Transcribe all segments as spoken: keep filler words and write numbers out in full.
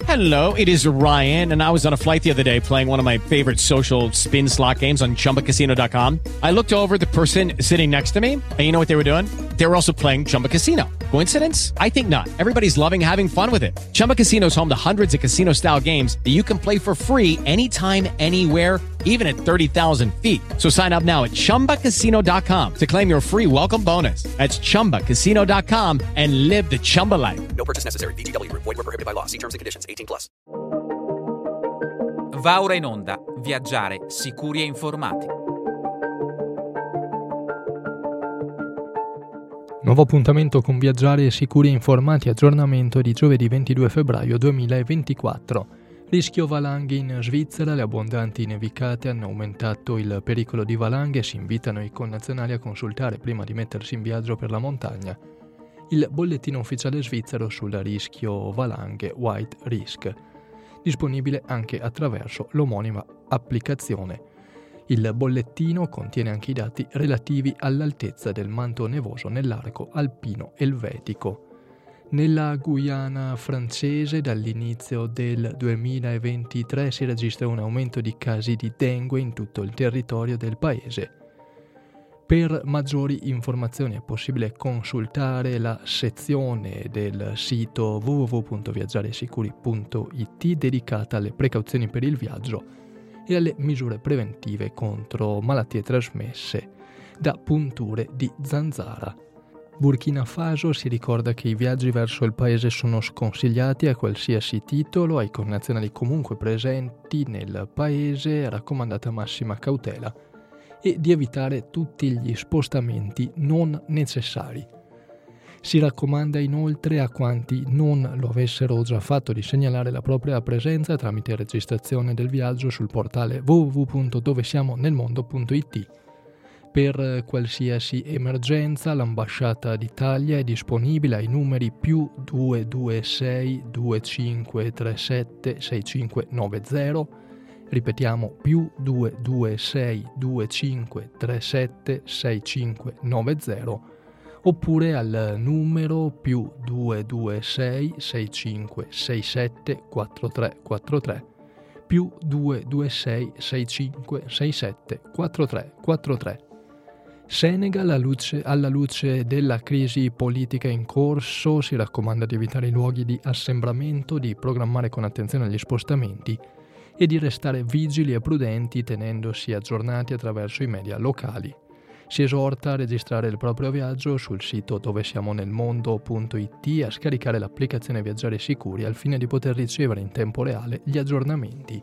Hello, it is Ryan, and I was on a flight the other day playing one of my favorite social spin slot games on Chumba Casino dot com. I looked over at the person sitting next to me, and you know what they were doing? They were also playing Chumba Casino. Coincidence? I think not. Everybody's loving having fun with it. Chumba Casino is home to hundreds of casino-style games that you can play for free anytime, anywhere, even at thirty thousand feet. So sign up now at Chumba Casino dot com to claim your free welcome bonus. That's Chumba Casino dot com and live the Chumba life. No purchase necessary. V G W. Void where prohibited by law. See terms and conditions. eighteen plus. Va ora in onda Viaggiare sicuri e informati. Nuovo appuntamento con Viaggiare sicuri e informati, aggiornamento di giovedì ventidue febbraio duemilaventiquattro. Rischio valanghe in Svizzera, le abbondanti nevicate hanno aumentato il pericolo di valanghe e si invitano i connazionali a consultare prima di mettersi in viaggio per la montagna il bollettino ufficiale svizzero sul rischio valanghe White Risk, disponibile anche attraverso l'omonima applicazione. Il bollettino contiene anche i dati relativi all'altezza del manto nevoso nell'arco alpino elvetico. Nella Guyana francese dall'inizio del duemilaventitré si registra un aumento di casi di dengue in tutto il territorio del paese. Per maggiori informazioni è possibile consultare la sezione del sito w w w punto viaggiaresicuri punto i t dedicata alle precauzioni per il viaggio e alle misure preventive contro malattie trasmesse da punture di zanzara. Burkina Faso si ricorda che i viaggi verso il paese sono sconsigliati a qualsiasi titolo, ai connazionali comunque presenti nel paese è raccomandata massima cautela e di evitare tutti gli spostamenti non necessari. Si raccomanda inoltre a quanti non lo avessero già fatto di segnalare la propria presenza tramite registrazione del viaggio sul portale w w w punto dovesiamonelmondo punto i t. Per qualsiasi emergenza l'ambasciata d'Italia è disponibile ai numeri più due due sei due cinque tre sette sei cinque nove zero, ripetiamo più due due sei due cinque tre sette sei cinque nove zero, oppure al numero più due due sei sei cinque sei sette quattro tre quattro tre, più due due sei sei cinque sei sette quattro tre quattro tre. Senegal, alla luce, alla luce della crisi politica in corso, si raccomanda di evitare i luoghi di assembramento, di programmare con attenzione gli spostamenti e di restare vigili e prudenti tenendosi aggiornati attraverso i media locali. Si esorta a registrare il proprio viaggio sul sito dovesiamonelmondo punto i t e a scaricare l'applicazione Viaggiare Sicuri al fine di poter ricevere in tempo reale gli aggiornamenti.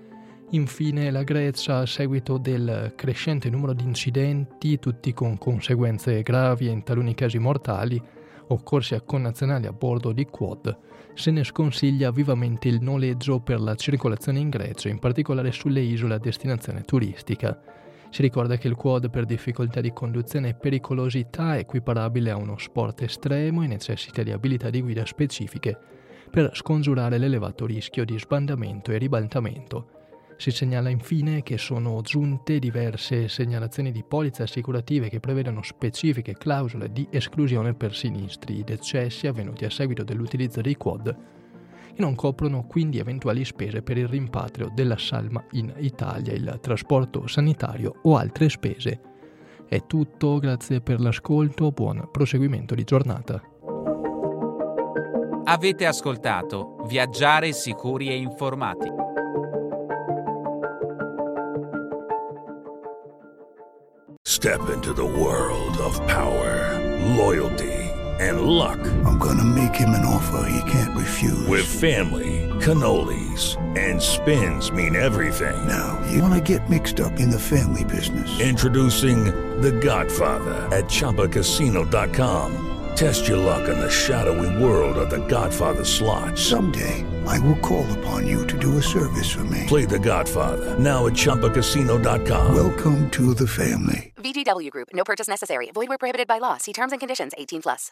Infine la Grecia, a seguito del crescente numero di incidenti, tutti con conseguenze gravi e in taluni casi mortali, occorsi a connazionali a bordo di quad, se ne sconsiglia vivamente il noleggio per la circolazione in Grecia, in particolare sulle isole a destinazione turistica. Si ricorda che il quad per difficoltà di conduzione e pericolosità è equiparabile a uno sport estremo e necessita di abilità di guida specifiche per scongiurare l'elevato rischio di sbandamento e ribaltamento. Si segnala infine che sono giunte diverse segnalazioni di polizze assicurative che prevedono specifiche clausole di esclusione per sinistri decessi avvenuti a seguito dell'utilizzo dei quad e non coprono quindi eventuali spese per il rimpatrio della salma in Italia, il trasporto sanitario o altre spese. È tutto, grazie per l'ascolto, buon proseguimento di giornata. Avete ascoltato Viaggiare sicuri e informati. Step into the world of power, loyalty, and luck. I'm gonna make him an offer he can't refuse. With family, cannolis, and spins mean everything. Now, you wanna get mixed up in the family business. Introducing The Godfather at Chumba Casino dot com. Test your luck in the shadowy world of The Godfather slot. Someday, I will call upon you to do a service for me. Play The Godfather, now at Chumba Casino dot com. Welcome to the family. V G W Group. No purchase necessary. Void where prohibited by law. See terms and conditions. eighteen plus.